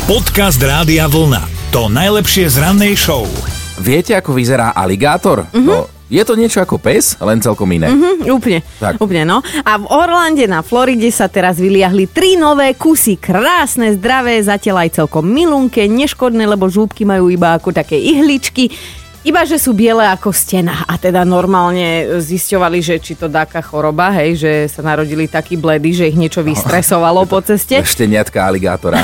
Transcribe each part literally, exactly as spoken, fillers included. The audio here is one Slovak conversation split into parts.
Podcast Rádia Vlna. To najlepšie z rannej show. Viete, ako vyzerá aligátor? Mhm. No, je to niečo ako pes, len celkom iné. Mhm, úplne, Tak. úplne, no. A v Orlande na Floride sa teraz vyliahli tri nové kusy. Krásne, zdravé, zatiaľ aj celkom milunké, neškodné, lebo žúbky majú iba ako také ihličky. Iba, že sú biele ako stena. A teda normálne zisťovali, že či to dáka choroba, hej, že sa narodili takí bledí, že ich niečo vystresovalo po ceste. Šteniatka aligátora.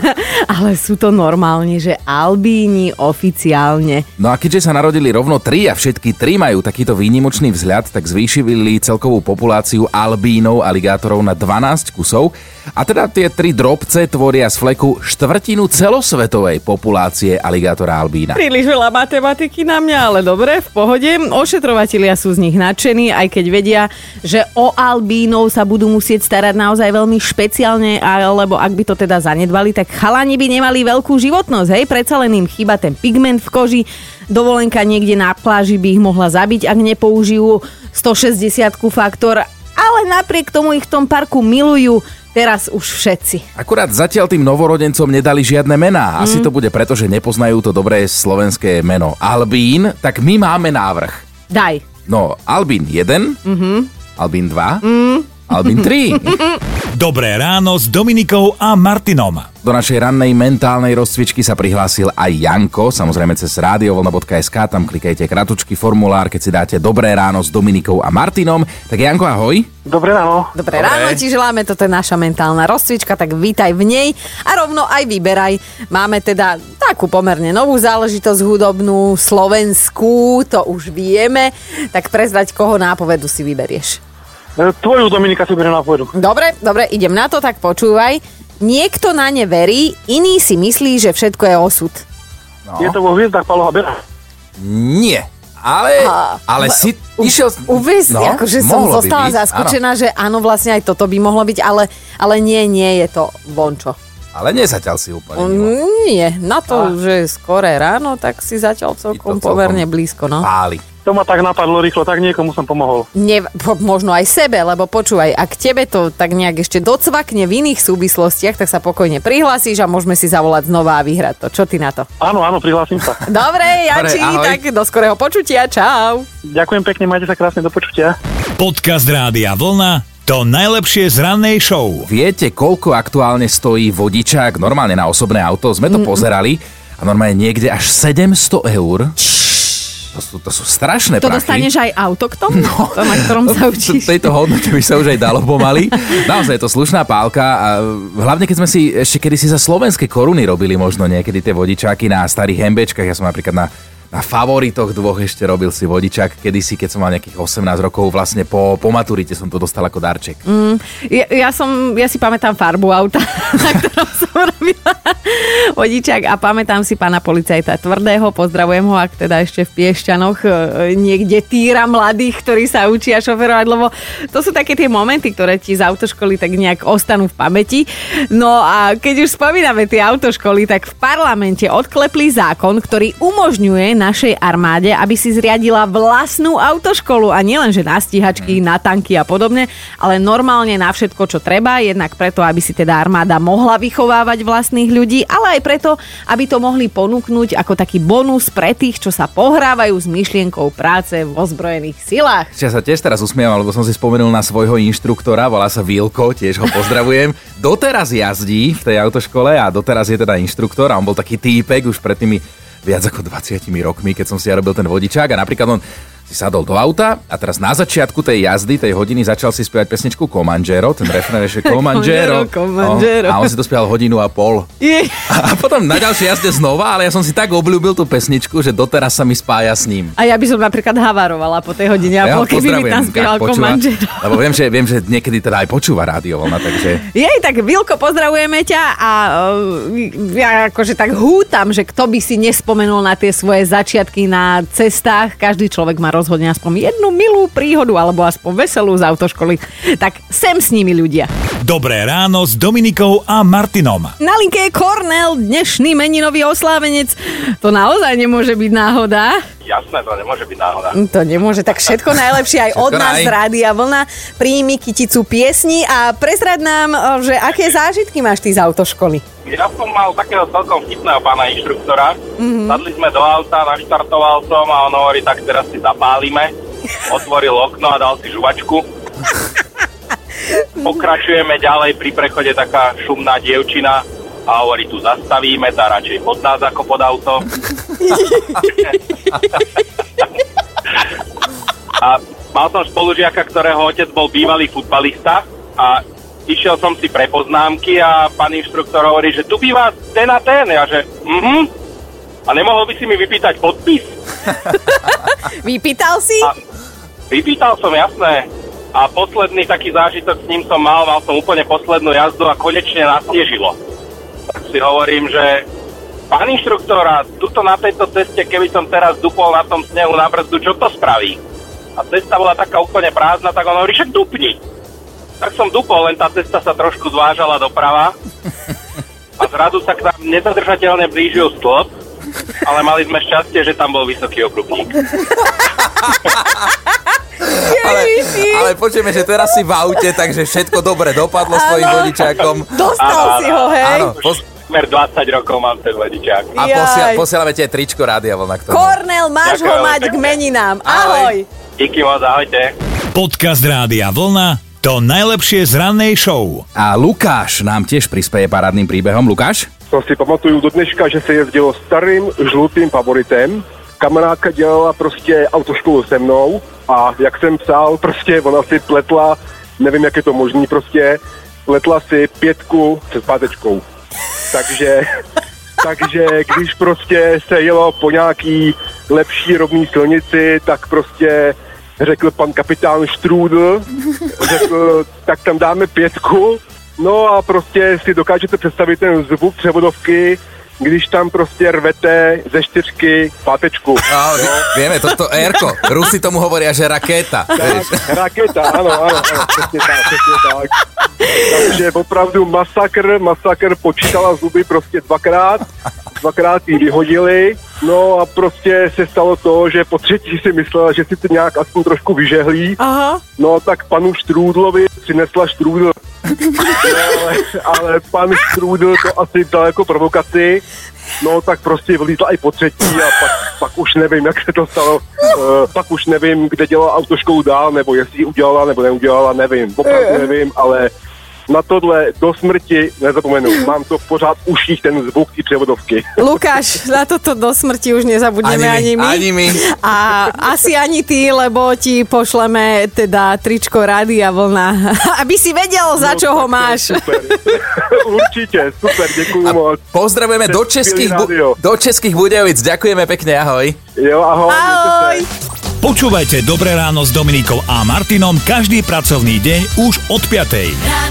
Ale sú to normálne, že albíni oficiálne. No a keďže sa narodili rovno tri a všetky tri majú takýto výnimočný vzhľad, tak zvýšili celkovú populáciu albínov aligátorov na dvanásť kusov. A teda tie tri drobce tvoria z fleku štvrtinu celosvetovej populácie aligátora albína. Príliš veľa matematiky na mňa, ale dobre, v pohode. Ošetrovatelia sú z nich nadšení, aj keď vedia, že o albínov sa budú musieť starať naozaj veľmi špeciálne, alebo ak by to teda zanedbali, tak chalani by nemali veľkú životnosť, hej? Predsa len im chýba ten pigment v koži, dovolenka niekde na pláži by ich mohla zabiť, ak nepoužijú stošesťdesiat faktor, ale napriek tomu ich v tom parku milujú. Teraz už všetci. Akurát zatiaľ tým novorodencom nedali žiadne mená. Asi mm. to bude preto, že nepoznajú to dobré slovenské meno Albín, tak my máme návrh. Daj. No, Albín jeden, mm-hmm. Albín dva, mm. Albín tri. Dobré ráno s Dominikou a Martinom. Do našej rannej mentálnej rozcvičky sa prihlásil aj Janko, samozrejme cez radiovlna bodka es ká, tam klikajte kratučký formulár, keď si dáte Dobré ráno s Dominikou a Martinom. Tak Janko, ahoj. Dobré ráno. Dobré Dobré. ráno ti želáme, toto je naša mentálna rozcvička, tak vítaj v nej a rovno aj vyberaj. Máme teda takú pomerne novú záležitosť hudobnú, slovenskú, to už vieme, tak prezrať, koho nápovedu si vyberieš. Tvoju, Dominika, si beriem na pôjdu. Dobre, dobre, idem na to, tak počúvaj. Niekto na ne verí, iný si myslí, že všetko je osud. No. Je to vo hviezdach Paľoha Bera. Nie, ale, A- ale si U- išiel... Uviz, no, akože som mohlo by zostala byť, zaskočená, že áno, vlastne aj toto by mohlo byť, ale, ale nie, nie je to vončo. áno. Ale nezatiaľ si úplne mimo. Mm, Nie, na to, že je skoré ráno, tak si zatiaľ celkom celkom pomerne blízko, no. Páli. To ma tak napadlo rýchlo, tak niekomu som pomohol. Ne, po, možno aj sebe, lebo počúvaj, ak tebe to tak nejak ešte docvakne v iných súvislostiach, tak sa pokojne prihlásíš a môžeme si zavolať znova a vyhrať to. Čo ty na to? Áno, áno, prihlásim sa. Dobre, Janči, ahoj. tak do skorého počutia, čau. Ďakujem pekne, majte sa krásne, do počutia. Podcast Rádia Vlna. To najlepšie z rannej show. Viete, koľko aktuálne stojí vodičák normálne na osobné auto? Sme to mm. pozerali a normálne niekde až sedemsto eur. To sú, to sú strašné To prachy. dostaneš aj auto k tomu? No. To, na ktorom sa učíš. V tejto hodnote by sa už aj dalo pomaly. Naozaj je to slušná pálka a hlavne keď sme si ešte kedysi za slovenské koruny robili možno niekedy tie vodičáky na starých hembečkách. Ja som napríklad na, na favoritoch dvoch ešte robil si vodičák kedysi, keď som mal nejakých osemnásť rokov, vlastne po, po maturite som to dostal ako darček. Mm, ja, ja, som, ja si pamätám farbu auta, na ktorom som robila vodičák a pamätám si pána policajta Tvrdého, pozdravujem ho, ak teda ešte v Piešťanoch e, niekde týra mladých, ktorí sa učia šoferovať, lebo to sú také tie momenty, ktoré ti z autoškoly tak nejak ostanú v pamäti. No a keď už spomíname tie autoškoly, tak v parlamente odklepli zákon, ktorý umožňuje našej armáde, aby si zriadila vlastnú autoškolu a nielen, že na stíhačky, na tanky a podobne, ale normálne na všetko, čo treba, jednak preto, aby si teda armáda mohla vychovávať vlastných ľudí, ale aj preto, aby to mohli ponúknuť ako taký bonus pre tých, čo sa pohrávajú s myšlienkou práce v ozbrojených silách. Ja sa tiež teraz usmievam, lebo som si spomenul na svojho inštruktora, volá sa Vilko, tiež ho pozdravujem. Doteraz jazdí v tej autoškole a doteraz je teda inštruktor a on bol taký týpek už pred tými viac ako dvadsiatimi rokmi, keď som si ja robil ten vodičák a napríklad on si sadol do auta a teraz na začiatku tej jazdy, tej hodiny začal si spievať pesničku Comanžero, ten refrén je Comanžero. Comanžero. No, a on si to spieval hodinu a pol. Je. A potom na ďalšej jazde znova, ale ja som si tak obľúbil tú pesničku, že doteraz sa mi spája s ním. A ja by som napríklad havarovala po tej hodine a Ja ho pol, keby mi tam pozdravujem, spieval ak počúva, Comanžero. lebo viem že, viem, že niekedy teda aj počúva rádio voľna, takže... Jej, tak Vilko, pozdravujeme ťa a uh, ja akože tak hútam, že kto by si nespomenul na tie svoje začiatky na cestách. Každý človek má rozhodne aspoň jednu milú príhodu alebo aspoň veselú z autoškoly. Tak sem s nimi ľudia. Dobré ráno s Dominikou a Martinom. Na linke je Kornel, dnešný meninový oslávenec. To naozaj nemôže byť náhoda. Jasné, to nemôže byť náhoda. To nemôže, tak všetko najlepšie aj od Všetko nás naj. z Rádia Vlna. Príjmi kyticu piesni a prezrad nám, že aké zážitky máš ty z autoškoly. ja som mal takého celkom vtipného pána inštruktora. Mm-hmm. Sadli sme do auta, naštartoval som a on hovorí, tak teraz si zapálime. Otvoril okno a dal si žuvačku. Pokračujeme ďalej, pri prechode taká šumná dievčina a hovorí, tu zastavíme, tá radšej pod nás ako pod auto. A mal som spolužiaka, ktorého otec bol bývalý futbalista a išiel som si pre poznámky a pán inštruktor hovorí, že tu býva ten a ten. Ja že, mhm. A nemohol by si mi vypýtať podpis? Vypýtal si? A vypýtal som, jasné. A posledný taký zážitok s ním som mal, mal som úplne poslednú jazdu a konečne nasnežilo. Tak si hovorím, že pán inštruktor, a tuto na tejto ceste, keby som teraz dupol na tom snehu na brzdu, čo to spraví? A cesta bola taká úplne prázdna, tak on hovorí, však dupni. Tak som dupol, len tá cesta sa trošku zvážala doprava a zrazu sa k nám nezadržateľne blížil stĺp, ale mali sme šťastie, že tam bol vysoký okrupník. Ale, ale počujeme, že teraz si v aute, takže všetko dobre dopadlo s tvojim vodičákom. Dostal Áno, si ho, hej? Áno, pos- Smer dvadsať rokov mám ten vodičák. a posia- posielame ti aj tričko Rádia Vlna k tomu. Kornel, máš Ďakujem ho mať k pekne. meninám. Ahoj. Ahoj. Díky moc, ahojte. Podcast Rádia Vlna, to najlepšie z rannej show. A Lukáš nám tiež prispieje parádnym príbehom. Lukáš? To si pamatuju do dneška, že se jezdilo starým žlutým favoritem. Kamarádka dělala prostě autoškolu se mnou a jak jsem psal, prostě ona si pletla, nevím, jak je to možný, prostě pletla si pětku se zpátečkou. Takže, takže když prostě se jelo po nějaký lepší rovný silnici, tak prostě řekl pan kapitán Štrůdl, řekl, tak tam dáme pětku. No a prostě si dokážete představit ten zvuk převodovky, když tam prostě rvete ze čtyřky pátečku. No, vieme, toto Erko. Rusi tomu hovoria, že rakéta. Tak, raketa, ano, ano, ano, přesně tak, přesně tak. Takže opravdu masakr, masakr, počítala zuby prostě dvakrát, dvakrát jí vyhodili, no a prostě se stalo to, že po třetí si myslela, že si to nějak aspoň trošku vyžehlí, Aha. no tak panu Štrůdlovi přinesla štrůdl. No, ale, ale pan Štrůdl to asi dal jako provokaci, no tak prostě vlítla i po třetí a pak, pak už nevím, jak se to stalo, uh, pak už nevím, kde dělala autoškolu dál, nebo jestli ji udělala, nebo neudělala, nevím, opravdu nevím, ale na tohle do smrti nezapomenu. Mám to pořád v uších, ten zvuk i převodovky. Lukáš, na toto do smrti už nezabudneme ani, Ani my, my. ani my. A asi ani ty, lebo ti pošleme teda tričko Rádia Vlna, aby si vedel, za čo ho máš. Super. Určite, super, děkuju moc. Pozdravujeme do českých, bu- rádio. do českých Budějovic. Ďakujeme pekne, ahoj. Jo, ahoj. Ahoj. Počúvajte Dobré ráno s Dominikou a Martinom každý pracovný deň už od piatej.